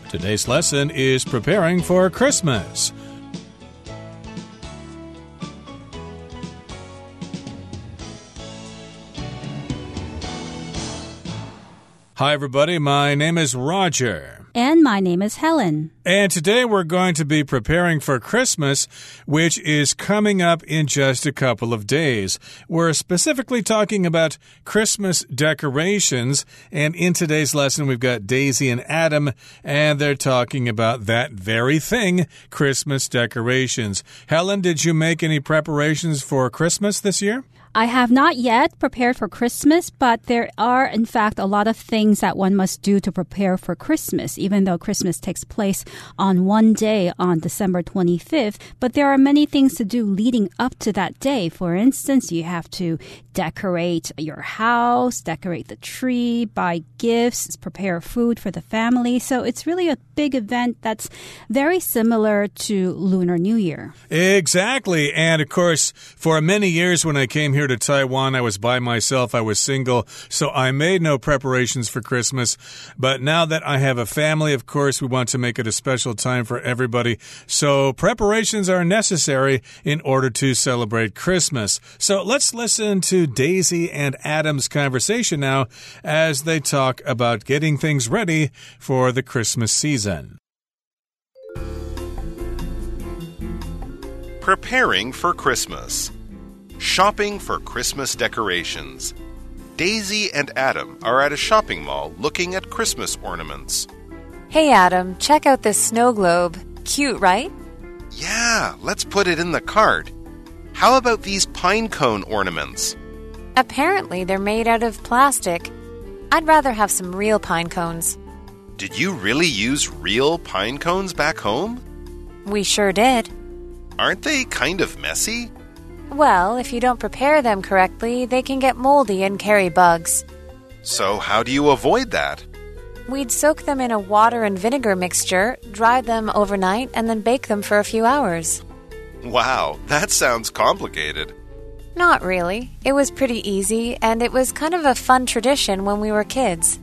Today's lesson is preparing for Christmas. Hi, everybody. My name is Roger. And my name is Helen. And today we're going to be preparing for Christmas, which is coming up in just a couple of days. We're specifically talking about Christmas decorations. And in today's lesson, we've got Daisy and Adam, and they're talking about that very thing, Christmas decorations. Helen, did you make any preparations for Christmas this year? I have not yet prepared for Christmas, but there are, in fact, a lot of things that one must do to prepare for Christmas, even though Christmas takes place on one day on December 25th. But there are many things to do leading up to that day. For instance, you have to decorate your house, decorate the tree, buy gifts, prepare food for the family. So it's really a big event that's very similar to Lunar New Year. Exactly. And of course, for many years when I came here to Taiwan, I was by myself, I was single, so I made no preparations for Christmas. But now that I have a family, of course, we want to make it a special time for everybody. So preparations are necessary in order to celebrate Christmas. So let's listen to Daisy and Adam's conversation now as they talk about getting things ready for the Christmas season. Preparing for Christmas. Shopping for Christmas decorations. Daisy and Adam are at a shopping mall looking at Christmas ornaments. Hey Adam, check out this snow globe. Cute, right? Yeah, let's put it in the cart. How about these pine cone ornaments? Apparently they're made out of plastic. I'd rather have some real pine cones. Did you really use real pine cones back home? We sure did. Aren't they kind of messy? Well, if you don't prepare them correctly, they can get moldy and carry bugs. So how do you avoid that? We'd soak them in a water and vinegar mixture, dry them overnight, and then bake them for a few hours. Wow, that sounds complicated. Not really. It was pretty easy, and it was kind of a fun tradition when we were kids.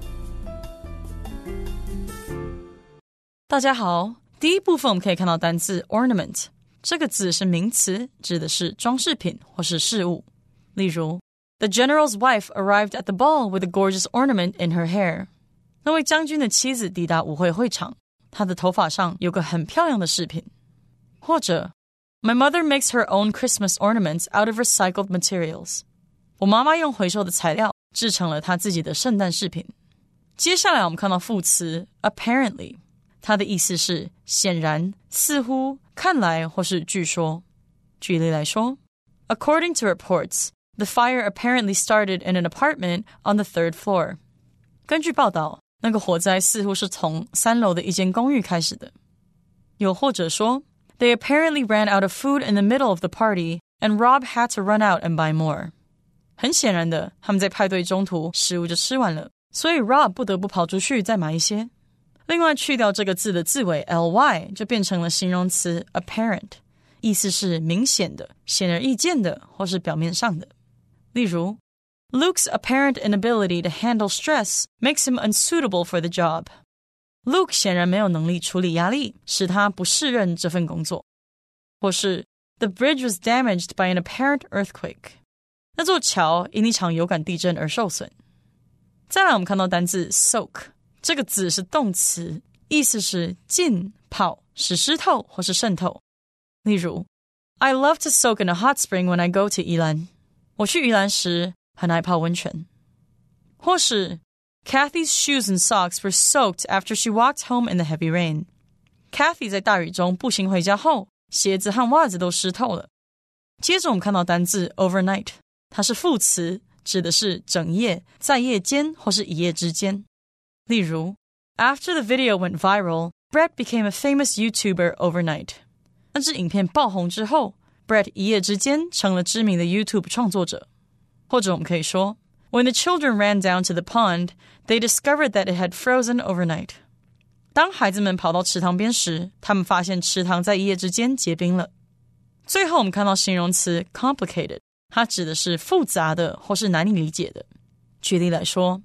大家好，第一部分我们可以看到单字 ornament。这个字是名词，指的是装饰品或是饰物。例如 The general's wife arrived at the ball with a gorgeous ornament in her hair. 那位将軍的妻子抵達舞會會場，她的頭髮上有個很漂亮的飾品。或者 My mother makes her own Christmas ornaments out of recycled materials. 我媽媽用回收的材料製成了她自己的聖誕飾品。接下來我們看到副詞 apparently， 它的意思是顯然、似乎、看來或是據說。舉例來說 According to reports, the fire apparently started in an apartment on the third floor. 根據報道，那個火災似乎是從3樓的一間公寓開始的。又或者說 They apparently ran out of food in the middle of the party, and Rob had to run out and buy more. 很顯然的，他們在派對中途食物就吃完了，所以 Rob 不得不跑出去再買一些。另外去掉這個字的字尾 ly 就變成了形容詞 apparent， 意思是明顯的、顯而易見的或是表面上的。例如 Luke's apparent inability to handle stress makes him unsuitable for the job. Luke 顯然沒有能力處理壓力，使他不適任這份工作。或是 The bridge was damaged by an apparent earthquake. 那座橋因一場有感地震而受損。再來我們看到單字 soak，這個字是動詞，意思是浸泡使濕透或是滲透。例如 I love to soak in a hot spring when I go to 宜蘭。我去宜蘭時很愛泡溫泉。或是 Kathy's shoes and socks were soaked after she walked home in the heavy rain. Kathy 在大雨中步行回家後，鞋子和襪子都濕透了。接着我們看到單字 overnight， 它是副詞，指的是整夜、在夜間或是一夜之間。例如 After the video went viral, Brett became a famous YouTuber overnight. 那支影片爆紅之後， Brett 一夜之間成了知名的 YouTube 創作者。或者我們可以說 When the children ran down to the pond, they discovered that it had frozen overnight. 當孩子們跑到池塘邊時，他們發現池塘在一夜之間結冰了。最後我們看到形容詞 complicated， 它指的是複雜的或是難以理解的。舉例來說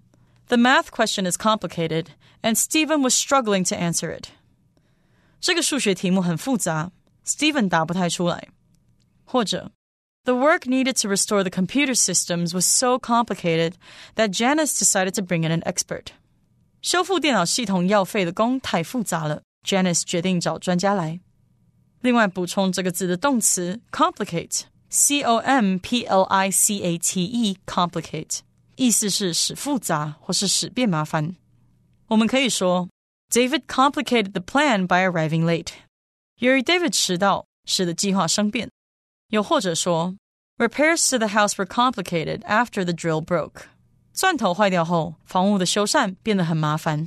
The math question is complicated, and Stephen was struggling to answer it. 这个数学题目很複雜 Stephen 答不太出來。或者 The work needed to restore the computer systems was so complicated that Janice decided to bring in an expert. 修復電腦系統要費的工太複雜了 Janice 決定找專家來。另外補充這個字的動詞 complicate C-O-M-P-L-I-C-A-T-E complicate 意思是使複雜或是使變麻煩。我們可以說 David complicated the plan by arriving late. 由於 David 遲到使得計劃生變。又或者說 Repairs to the house were complicated after the drill broke. 鑽頭壞掉後，房屋的修繕變得很麻煩。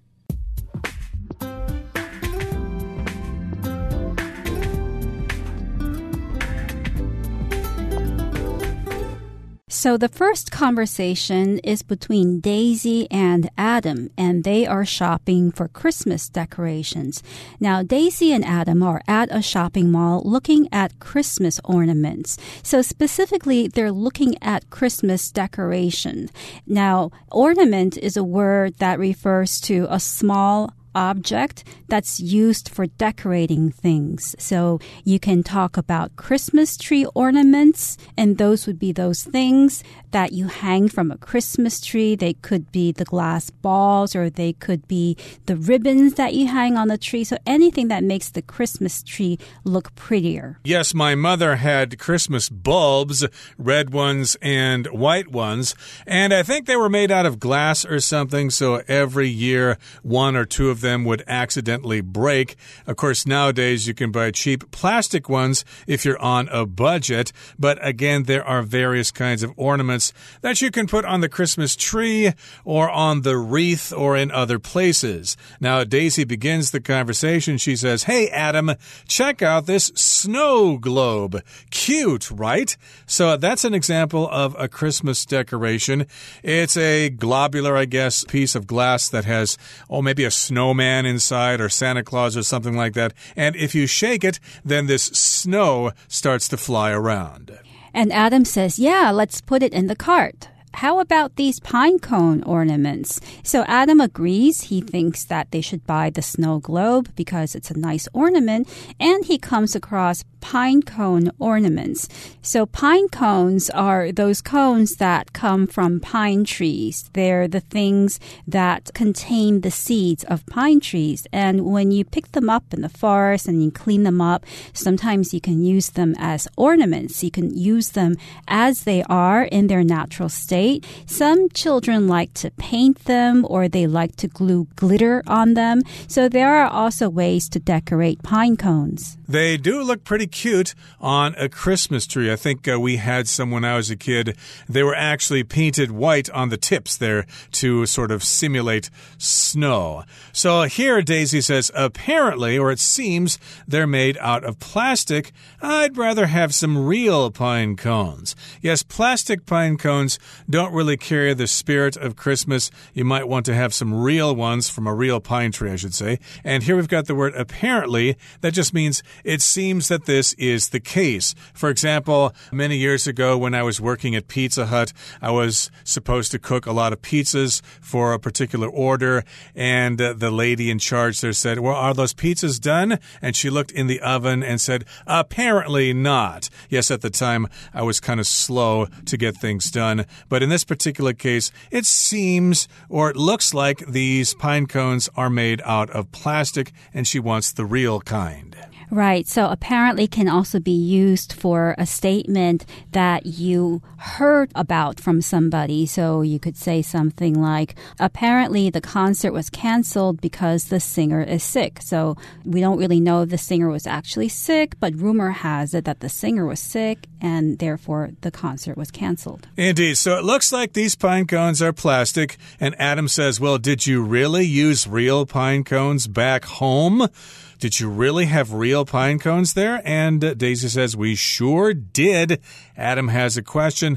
So the first conversation is between Daisy and Adam, and they are shopping for Christmas decorations. Now, Daisy and Adam are at a shopping mall looking at Christmas ornaments. So specifically, they're looking at Christmas decoration. Now, ornament is a word that refers to a small object that's used for decorating things. So you can talk about Christmas tree ornaments, and those would be those things that you hang from a Christmas tree. They could be the glass balls, or they could be the ribbons that you hang on the tree. So anything that makes the Christmas tree look prettier. Yes, my mother had Christmas bulbs, red ones and white ones, and I think they were made out of glass or something, so every year one or two of them would accidentally break. Of course, nowadays you can buy cheap plastic ones if you're on a budget, but again, there are various kinds of ornaments that you can put on the Christmas tree or on the wreath or in other places. Now, Daisy begins the conversation. She says, "Hey, Adam, check out this snow globe. Cute, right?" So that's an example of a Christmas decoration. It's a globular, I guess, piece of glass that has, maybe a snowman inside or Santa Claus or something like that. And if you shake it, then this snow starts to fly around. And Adam says, yeah, let's put it in the cart. How about these pine cone ornaments? So Adam agrees. He thinks that they should buy the snow globe because it's a nice ornament. And he comes across pine cone ornaments. So pine cones are those cones that come from pine trees. They're the things that contain the seeds of pine trees. And when you pick them up in the forest and you clean them up, sometimes you can use them as ornaments. You can use them as they are in their natural state. Some children like to paint them, or they like to glue glitter on them. So there are also ways to decorate pine cones. They do look pretty cute on a Christmas tree. I think we had some when I was a kid. They were actually painted white on the tips there to sort of simulate snow. So here Daisy says, apparently, or it seems, they're made out of plastic. I'd rather have some real pine cones. Yes, plastic pine cones don't really carry the spirit of Christmas. You might want to have some real ones from a real pine tree, I should say. And here we've got the word apparently. That just means it seems that this is the case. For example, many years ago when I was working at Pizza Hut, I was supposed to cook a lot of pizzas for a particular order, and the lady in charge there said, well, are those pizzas done? And she looked in the oven and said, apparently not. Yes, at the time, I was kind of slow to get things done. But in this particular case, it seems, or it looks like these pine cones are made out of plastic, and she wants the real kind. Right. So apparently can also be used for a statement that you heard about from somebody. So you could say something like, apparently the concert was canceled because the singer is sick. So we don't really know if the singer was actually sick, but rumor has it that the singer was sick and therefore the concert was canceled. Indeed. So it looks like these pine cones are plastic. And Adam says, well, did you really use real pine cones back home? Did you really have real pine cones there? And Daisy says, we sure did. Adam has a question.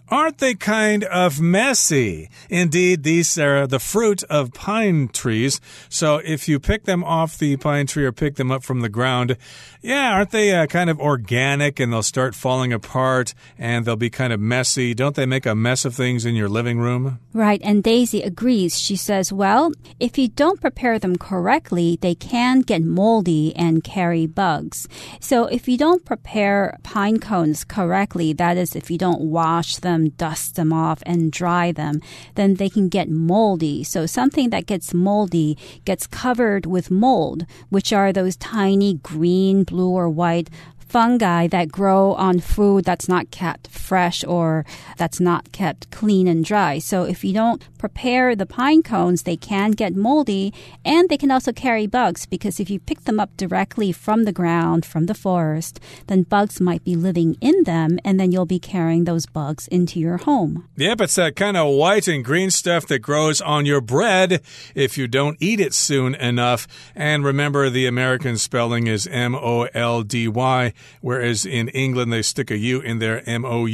Aren't they kind of messy? Indeed, these are the fruit of pine trees. So if you pick them off the pine tree or pick them up from the ground, yeah, aren't they kind of organic and they'll start falling apart and they'll be kind of messy? Don't they make a mess of things in your living room? Right, and Daisy agrees. She says, well, if you don't prepare them correctly, they can get moldy and carry bugs. So if you don't prepare pine cones correctly, that is, if you don't wash them, dust them off, and dry them, then they can get moldy. So something that gets moldy gets covered with mold, which are those tiny green, blue, or white fungi that grow on food that's not kept fresh or that's not kept clean and dry. So if you don't prepare the pine cones, they can get moldy and they can also carry bugs because if you pick them up directly from the ground, from the forest, then bugs might be living in them and then you'll be carrying those bugs into your home. Yep, it's that kind of white and green stuff that grows on your bread if you don't eat it soon enough. And remember, the American spelling is M-O-L-D-Y. Whereas in England, they stick a U in there,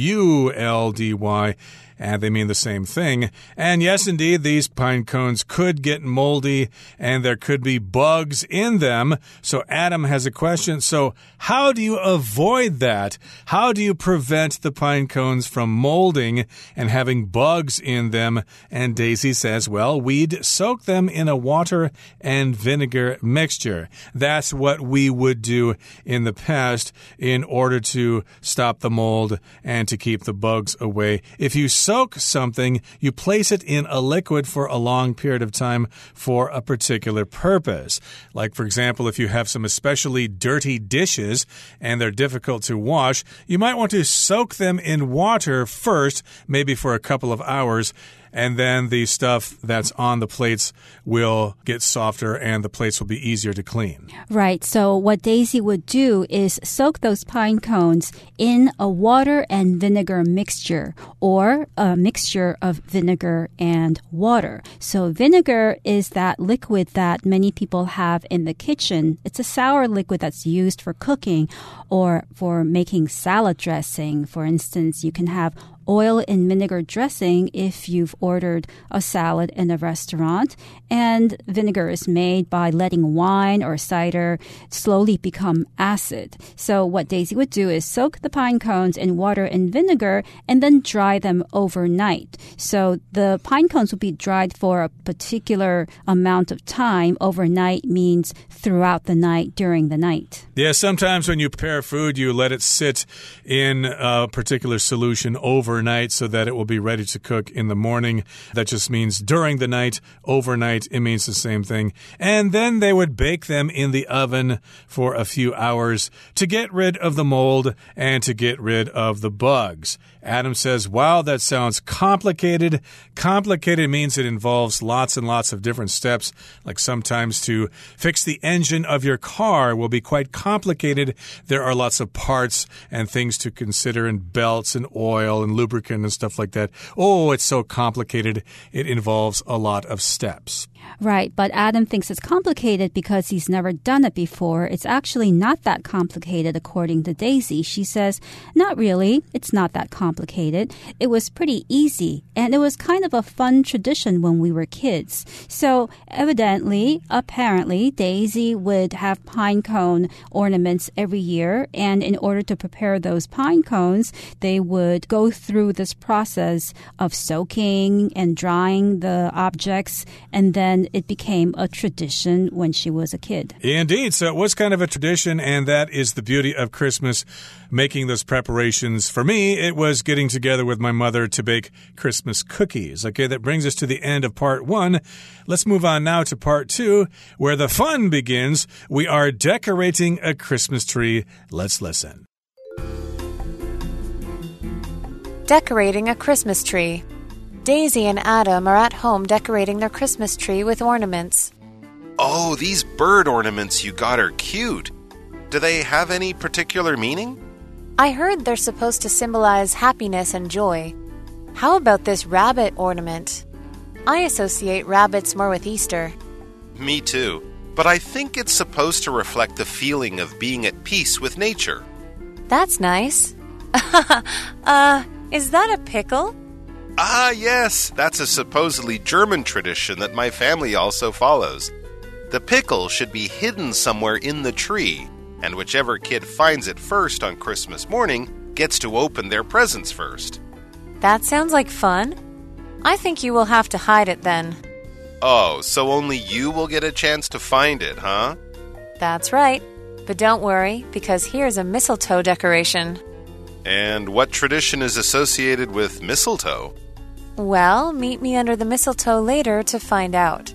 M-O-U-L-D-Y, and they mean the same thing. And yes, indeed, these pine cones could get moldy, and there could be bugs in them. So Adam has a question. So how do you avoid that? How do you prevent the pine cones from molding and having bugs in them? And Daisy says, well, we'd soak them in a water and vinegar mixture. That's what we would do in the past in order to stop the mold and to keep the bugs away. If you soak something, you place it in a liquid for a long period of time for a particular purpose. Like, for example, if you have some especially dirty dishes and they're difficult to wash, you might want to soak them in water first, maybe for a couple of hours, and then the stuff that's on the plates will get softer and the plates will be easier to clean. Right. So what Daisy would do is soak those pine cones in a water and vinegar mixture or a mixture of vinegar and water. So vinegar is that liquid that many people have in the kitchen. It's a sour liquid that's used for cooking or for making salad dressing. For instance, you can have oil and vinegar dressing if you've ordered a salad in a restaurant. And vinegar is made by letting wine or cider slowly become acid. So what Daisy would do is soak the pine cones in water and vinegar and then dry them overnight. So the pine cones will be dried for a particular amount of time. Overnight means throughout the night, during the night. Yeah, sometimes when you prepare food, you let it sit in a particular solution overnight so that it will be ready to cook in the morning. That just means during the night. Overnight, it means the same thing. And then they would bake them in the oven for a few hours to get rid of the mold and to get rid of the bugs. Adam says, wow, that sounds complicated. Complicated means it involves lots and lots of different steps. Like sometimes to fix the engine of your car will be quite complicated. There are lots of parts and things to consider and belts and oil and lubricant and stuff like that. Oh, it's so complicated. It involves a lot of steps. Right, but Adam thinks it's complicated because he's never done it before. It's actually not that complicated, according to Daisy. She says, not really. It's not that complicated. It was pretty easy, and it was kind of a fun tradition when we were kids. So apparently, Daisy would have pine cone ornaments every year, and in order to prepare those pine cones, they would go through this process of soaking and drying the objects, and then it became a tradition when she was a kid. Indeed. So it was kind of a tradition, and that is the beauty of Christmas, making those preparations. For me, it was getting together with my mother to bake Christmas cookies. Okay, that brings us to the end of part 1. Let's move on now to part 2, where the fun begins. We are decorating a Christmas tree. Let's listen. Decorating a Christmas tree. Daisy and Adam are at home decorating their Christmas tree with ornaments. Oh, these bird ornaments you got are cute. Do they have any particular meaning? I heard they're supposed to symbolize happiness and joy. How about this rabbit ornament? I associate rabbits more with Easter. Me too, but I think it's supposed to reflect the feeling of being at peace with nature. That's nice. Is that a pickle? Ah, yes, that's a supposedly German tradition that my family also follows. The pickle should be hidden somewhere in the tree, and whichever kid finds it first on Christmas morning gets to open their presents first. That sounds like fun. I think you will have to hide it then. Oh, so only you will get a chance to find it, huh? That's right. But don't worry, because here's a mistletoe decoration. And what tradition is associated with mistletoe? Well, meet me under the mistletoe later to find out.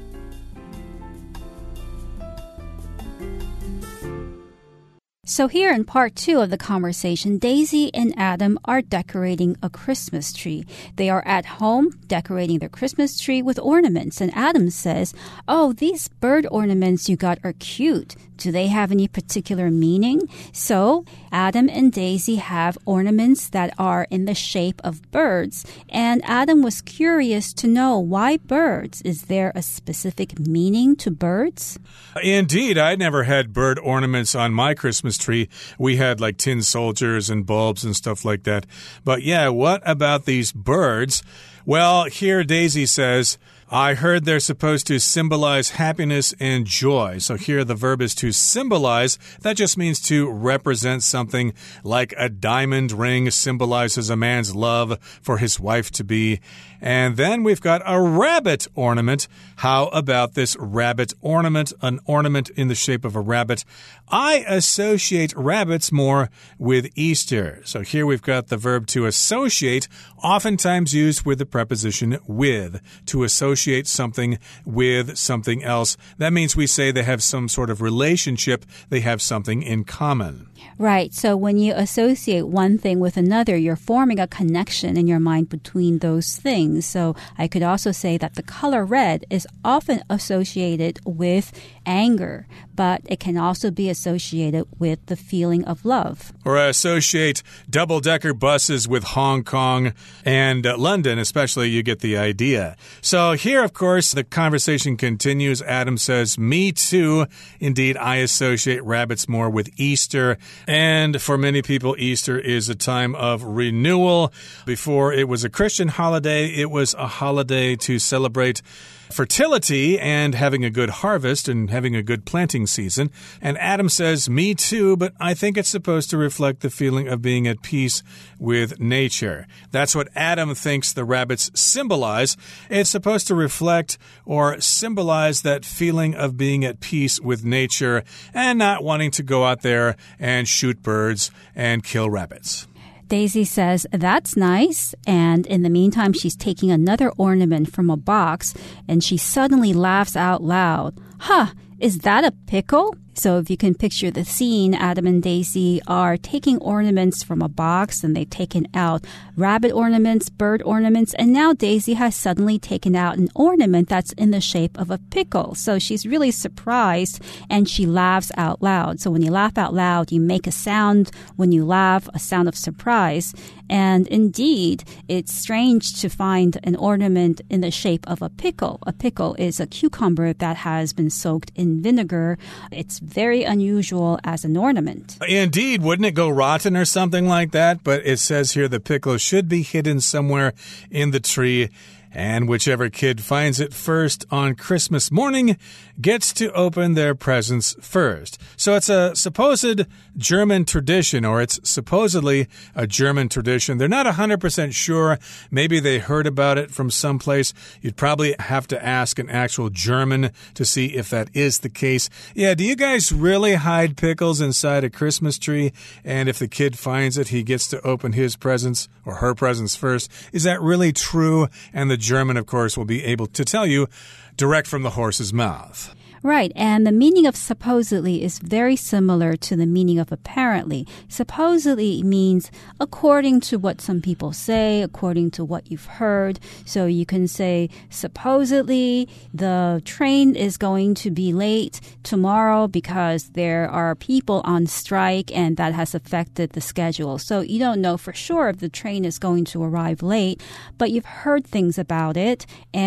So here in part 2 of the conversation, Daisy and Adam are decorating a Christmas tree. They are at home decorating their Christmas tree with ornaments. And Adam says, "Oh, these bird ornaments you got are cute. Do they have any particular meaning?" So Adam and Daisy have ornaments that are in the shape of birds. And Adam was curious to know, why birds? Is there a specific meaning to birds? Indeed, I never had bird ornaments on my Christmas tree. We had like tin soldiers and bulbs and stuff like that. But yeah, what about these birds? Well, here Daisy says, I heard they're supposed to symbolize happiness and joy. So here the verb is to symbolize. That just means to represent something, like a diamond ring symbolizes a man's love for his wife-to-be. And then we've got a rabbit ornament. How about this rabbit ornament? An ornament in the shape of a rabbit. I associate rabbits more with Easter. So here we've got the verb to associate, oftentimes used with the preposition with, to associate something with something else. That means we say they have some sort of relationship, they have something in common. Right. So when you associate one thing with another, you're forming a connection in your mind between those things. So I could also say that the color red is often associated with anger, but it can also be associated with the feeling of love. Or associate double-decker buses with Hong Kong and London, especially. You get the idea. So here, of course, the conversation continues. Adam says, me too. Indeed, I associate rabbits more with Easter. And for many people, Easter is a time of renewal. Before it was a Christian holiday, it was a holiday to celebrate fertility and having a good harvest and having a good planting season. And Adam says, me too, but I think it's supposed to reflect the feeling of being at peace with nature. That's what Adam thinks the rabbits symbolize. It's supposed to reflect or symbolize that feeling of being at peace with nature and not wanting to go out there and shoot birds and kill rabbits. Daisy says, that's nice. And in the meantime, she's taking another ornament from a box and she suddenly laughs out loud. Huh, is that a pickle? So if you can picture the scene, Adam and Daisy are taking ornaments from a box and they've taken out rabbit ornaments, bird ornaments, and now Daisy has suddenly taken out an ornament that's in the shape of a pickle. So she's really surprised and she laughs out loud. So when you laugh out loud, you make a sound when you laugh, a sound of surprise. And indeed, it's strange to find an ornament in the shape of a pickle. A pickle is a cucumber that has been soaked in vinegar. It's very unusual as an ornament. Indeed, wouldn't it go rotten or something like that? But it says here the pickle should be hidden somewhere in the tree. And whichever kid finds it first on Christmas morning gets to open their presents first. So it's a supposed German tradition, or it's supposedly a German tradition. They're not 100% sure. Maybe they heard about it from someplace. You'd probably have to ask an actual German to see if that is the case. Yeah, do you guys really hide pickles inside a Christmas tree? And if the kid finds it, he gets to open his presents or her presents first. Is that really true? And the German, of course, will be able to tell you direct from the horse's mouth. Right, and the meaning of supposedly is very similar to the meaning of apparently. Supposedly means according to what some people say, according to what you've heard. So you can say, supposedly the train is going to be late tomorrow because there are people on strike and that has affected the schedule. So you don't know for sure if the train is going to arrive late, but you've heard things about it, and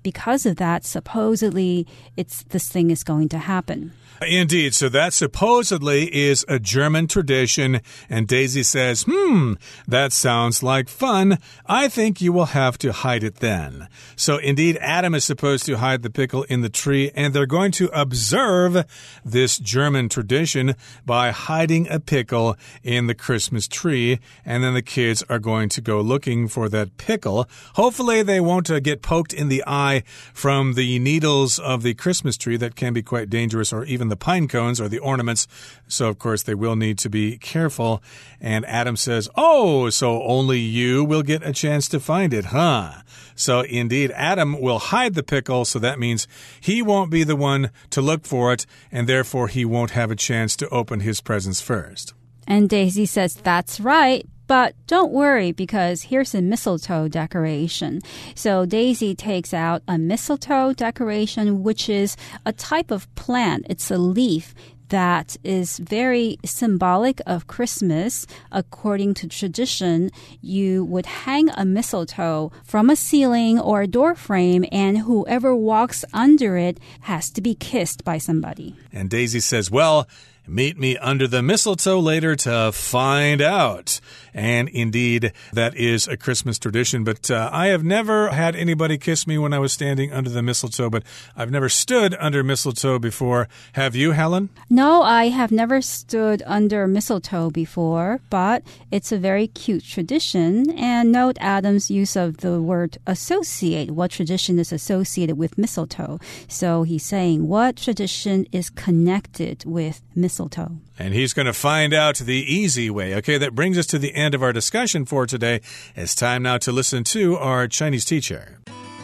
because of that, supposedly, this thing is going to happen. Indeed. So that supposedly is a German tradition. And Daisy says, that sounds like fun. I think you will have to hide it then. So indeed, Adam is supposed to hide the pickle in the tree, and they're going to observe this German tradition by hiding a pickle in the Christmas tree. And then the kids are going to go looking for that pickle. Hopefully they won't get poked in the eye from the needles of the Christmas tree. That can be quite dangerous, or even the pine cones or the ornaments. So, of course, they will need to be careful. And Adam says, oh, so only you will get a chance to find it, huh? So, indeed, Adam will hide the pickle, so that means he won't be the one to look for it, and therefore he won't have a chance to open his presents first. And Daisy says, that's right. But don't worry, because here's a mistletoe decoration. So Daisy takes out a mistletoe decoration, which is a type of plant. It's a leaf that is very symbolic of Christmas. According to tradition, you would hang a mistletoe from a ceiling or a door frame, and whoever walks under it has to be kissed by somebody. And Daisy says, well, meet me under the mistletoe later to find out. And indeed, that is a Christmas tradition. But I have never had anybody kiss me when I was standing under the mistletoe, but I've never stood under mistletoe before. Have you, Helen? No, I have never stood under mistletoe before, but it's a very cute tradition. And note Adam's use of the word associate. What tradition is associated with mistletoe? So he's saying, what tradition is connected with mistletoe? And he's going to find out the easy way. Okay, that brings us to the end of our discussion for today. It's time now to listen to our Chinese teacher.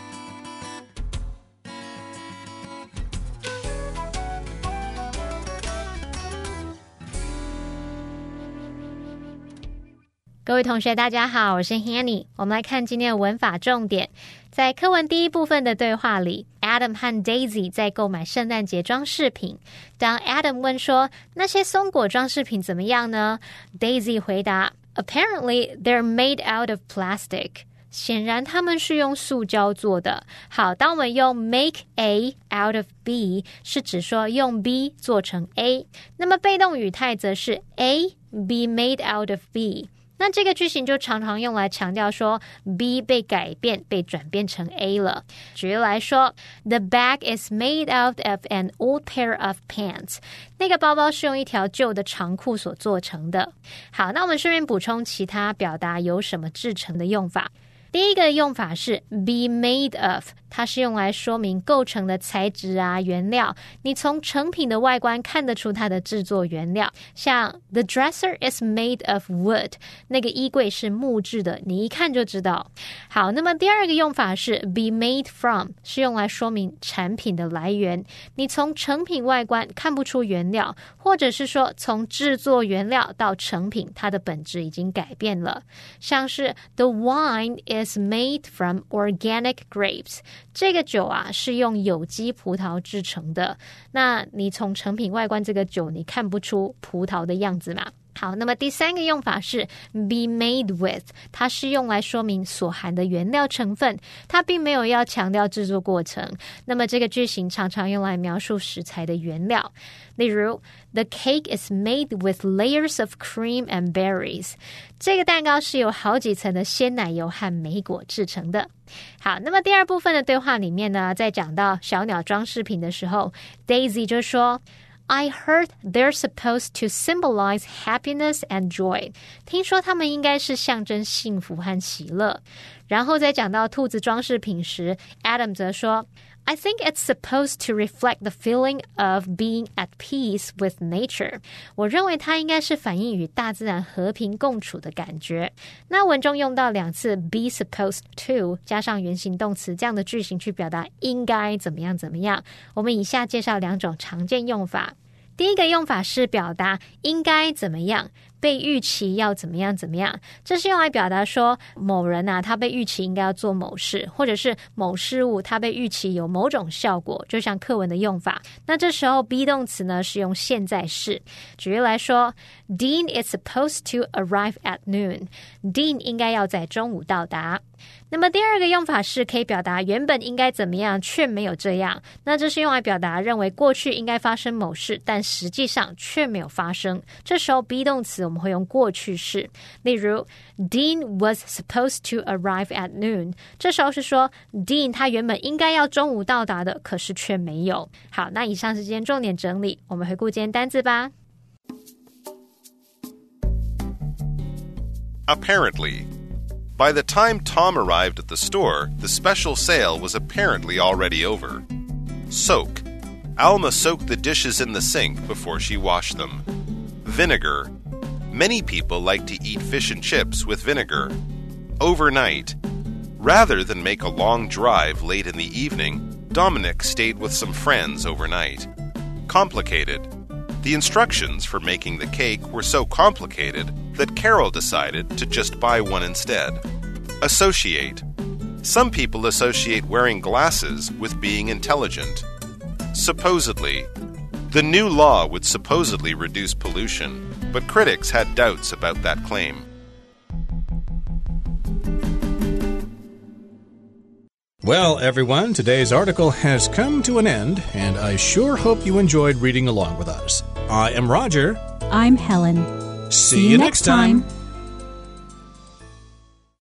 各位同学大家好，我是 Hanny。 我们来看今天的文法重点。在課文第一部分的對話裡， Adam 和 Daisy 在購買聖誕節裝飾品。當 Adam 問說，那些松果裝飾品怎麼樣呢？ Daisy 回答， Apparently they're made out of plastic。 顯然他們是用塑膠做的。好，當我們用 make A out of B 是指說用 B 做成 A， 那麼被動語態則是 A be made out of B。那這個句型就常常用來強調說 B 被改變被轉變成 A 了。舉例來說 The bag is made out of an old pair of pants。 那個包包是用一條舊的長褲所做成的。好，那我們順便補充其他表達有什麼製成的用法。第一個用法是 be made of， 它是用來說明構成的材質啊、原料。你從成品的外觀看得出它的製作原料，像 The dresser is made of wood， 那個衣櫃是木質的，你一看就知道。好，那麼第二個用法是 be made from， 是用來說明產品的來源。你從成品外觀看不出原料，或者是說從製作原料到成品，它的本質已經改變了。像是 The wine is made from organic grapes， 這個酒啊是用有機葡萄製成的。那你從成品外觀這個酒，你看不出葡萄的樣子嘛？好，那麼第三個用法是 be made with， 它是用來說明所含的原料成分，它並沒有要強調製作過程。那麼這個句型常常用來描述食材的原料。例如 The cake is made with layers of cream and berries， 這個蛋糕是由好幾層的鮮奶油和莓果製成的。好，那麼第二部分的對話裡面呢，在講到小鳥裝飾品的時候， Daisy 就說I heard they're supposed to symbolize happiness and joy。 聽說他們應該是象徵幸福和喜樂。然後在講到兔子裝飾品時， Adam 則說I think it's supposed to reflect the feeling of being at peace with nature。 我認為它應該是反映與大自然和平共處的感覺。那文中用到2次 be supposed to 加上原形動詞這樣的句型去表達應該怎麼樣怎麼樣。我們以下介紹2種常見用法。第一個用法是表達應該怎麼樣，被預期要怎麼樣怎麼樣。這是用來表達說某人啊，他被預期應該要做某事，或者是某事物他被預期有某種效果，就像課文的用法。那這時候 be 動詞呢是用現在式。舉例來說 Dean is supposed to arrive at noon。 Dean 應該要在中午到達。 那麼第二個用法是可以表達原本應該怎麼樣卻沒有這樣，那這是用來表達認為過去應該發生某事但實際上卻沒有發生，這時候 be 動詞我們會用過去式，例如 Dean was supposed to arrive at noon， 這時候是說 Dean 他原本應該要中午到達的，可是卻沒有。好，那以上是今天重點整理，我們回顧今天單字吧。 Apparently.By the time Tom arrived at the store, the special sale was apparently already over. Soak. Alma soaked the dishes in the sink before she washed them. Vinegar. Many people like to eat fish and chips with vinegar. Overnight. Rather than make a long drive late in the evening, Dominic stayed with some friends overnight. Complicated. The instructions for making the cake were so complicated that Carol decided to just buy one instead. Associate. Some people associate wearing glasses with being intelligent. Supposedly. The new law would supposedly reduce pollution, but critics had doubts about that claim. Well, everyone, today's article has come to an end, and I sure hope you enjoyed reading along with us. I am Roger. I'm Helen. See you next time.